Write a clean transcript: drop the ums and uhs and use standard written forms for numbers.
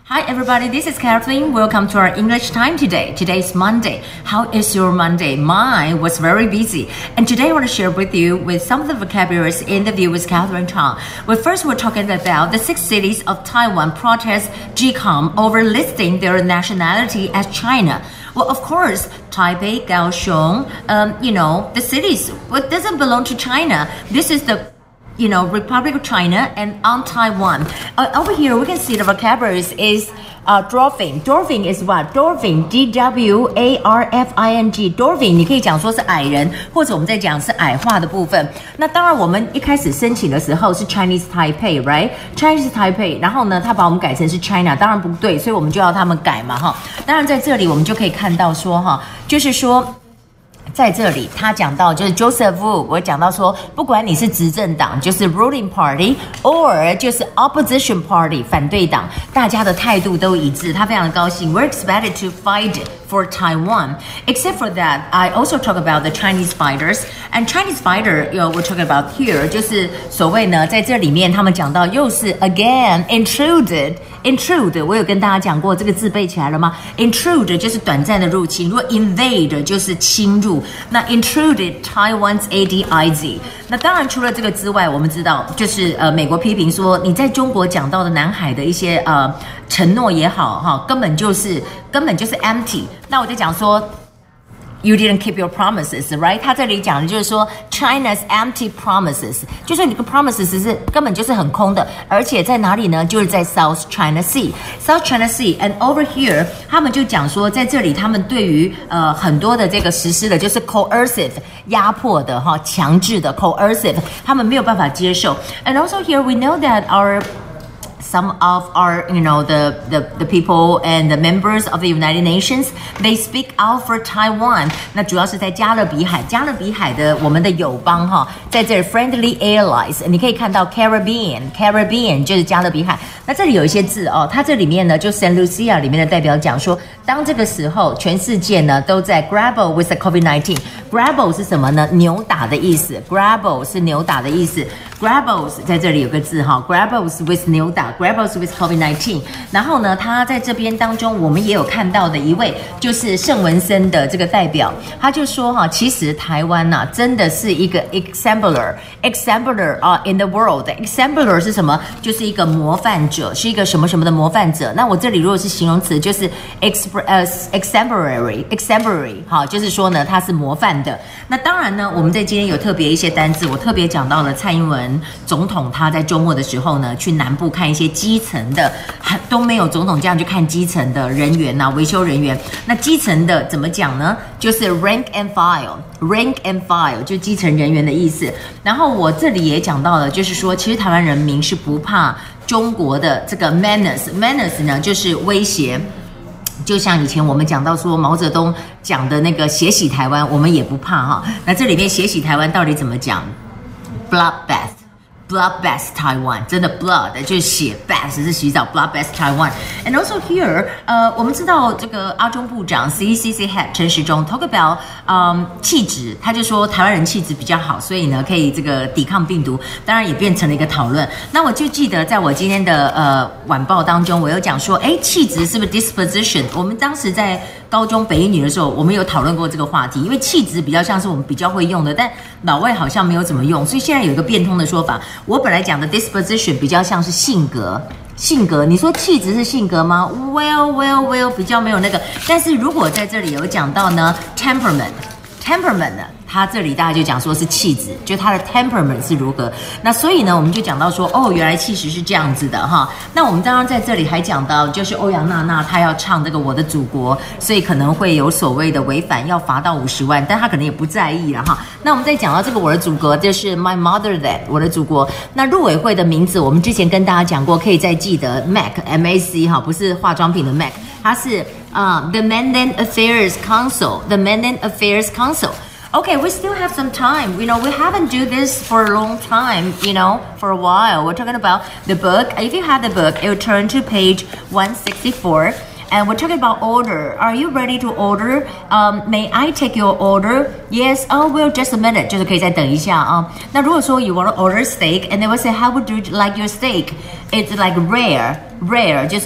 Hi everybody, this is Kathleen. Welcome to our English time today. Today is Monday. How is your Monday? Mine was very busy. And today I want to share with you with some of the vocabularies in the view with Catherine Chang. Well, first we're talking about the 6 cities of Taiwan protest GCOM over listing their nationality as China. Well, of course, Taipei, Kaohsiung, the cities, what doesn't belong to China. This is the Republic of China and on Taiwan. Over here, we can see the vocabularies is dwarfing. Dwarfing is what? Dwarfing, D-W-A-R-F-I-N-G. Dwarfing 你可以讲说是矮人，或者我们在讲是矮化的部分。那当然，我们一开始申请的时候是 Chinese Taipei, right? Chinese Taipei， 然后呢，他把我们改成是 China， 当然不对，所以我们就要他们改嘛，哈。当然在这里我们就可以看到说，哈，就是说。在这里，他讲到就是 Joseph Wu， 我讲到说，不管你是执政党，就是 ruling party，or 就是 opposition party， 反对党，大家的态度都一致，他非常的高兴。We're expected to fight for Taiwan. Except for that, I also talk about the Chinese fighters. And Chinese fighter, we're talking about here, 就是所谓呢，在这里面他们讲到又是 again intrude， 我有跟大家讲过这个字背起来了吗 ？Intrude 就是短暂的入侵，如果 invade 就是侵入。那 intruded Taiwan's ADIZ。那当然除了这个之外，我们知道就是美国批评说你在中国讲到的南海的一些承诺也好哈，根本就是 empty。那我就讲说。You didn't keep your promises, right? 他这里讲的就是说 China's empty promises， 就是你的 promises 是根本就是很空的，而且在哪里呢？就是在 South China Sea，South China Sea。And over here， 他们就讲说，在这里他们对于很多的这个实施的，就是 coercive 压迫的哈，强制的 coercive， 他们没有办法接受。And also here we know that some of our, the people and the members of the United Nations, they speak out for Taiwan. 那主要是在加勒比海的我们的友邦哈，在这里 friendly allies， 你可以看到 Caribbean 就是加勒比海。那这里有一些字哦，它这里面呢，就 Saint Lucia 里面的代表讲说，当这个时候全世界呢都在 grapple with the COVID-19。Grapple 是什么呢？扭打的意思。Grapple 是扭打的意思。Grapples 在这里有个字哈 ，Grapples with 扭打 ，Grapples with COVID-19。然后呢，他在这边当中，我们也有看到的一位就是圣文森的这个代表，他就说哈，其实台湾呐、真的是一个 exemplar in the world。exemplar 是什么？就是一个模范者，是一个什么什么的模范者。那我这里如果是形容词，就是 exemplary， 好，就是说呢，他是模范的。那当然呢，我们在今天有特别一些单字，我特别讲到了蔡英文总统他在周末的时候呢，去南部看一些基层的，都没有总统这样去看基层的人员啊，维修人员。那基层的怎么讲呢？就是 rank and file 就基层人员的意思。然后我这里也讲到了，就是说，其实台湾人民是不怕中国的这个 menace 呢，就是威胁。就像以前我们讲到说毛泽东讲的那个血洗台湾，我们也不怕哈。那这里面血洗台湾到底怎么讲 ？Bloodbath Taiwan， 真的 blood 就是血 ，bath 是洗澡 ，bloodbath Taiwan。And also here， 我们知道这个阿中部长 CCC Head 陈时中 talk about 气质，他就说台湾人气质比较好，所以呢可以这个抵抗病毒，当然也变成了一个讨论。那我就记得在我今天的晚报当中，我有讲说，气质是不是 disposition？ 我们当时在高中北一女的时候，我们有讨论过这个话题，因为气质比较像是我们比较会用的，但老外好像没有怎么用，所以现在有一个变通的说法。我本来讲的 disposition 比较像是性格，你说气质是性格吗 ？Well， 比较没有那个。但是如果在这里有讲到呢 ，temperament 呢？他这里大家就讲说是气质，就他的 temperament 是如何。那所以呢，我们就讲到说，原来气质是这样子的哈。那我们当然在这里还讲到，就是欧阳娜娜她要唱这个《我的祖国》，所以可能会有所谓的违反，要罚到50万，但她可能也不在意了哈。那我们再讲到这个《我的祖国》，就是 My Motherland， 我的祖国。那入委会的名字，我们之前跟大家讲过，可以再记得 MAC 哈，不是化妆品的 MAC， 它是The Mainland Affairs Council，The Mainland Affairs Council。Okay, we still have some time. We haven't do this for a long time, for a while. We're talking about the book. If you have the book, it will turn to page 164. And we're talking about order. Are you ready to order? May I take your order? Yes. Oh, well, just a minute. 就是可以再等一下啊。那如果说 you want to order steak, and they will say, how would you like your steak? It's like rare. 就是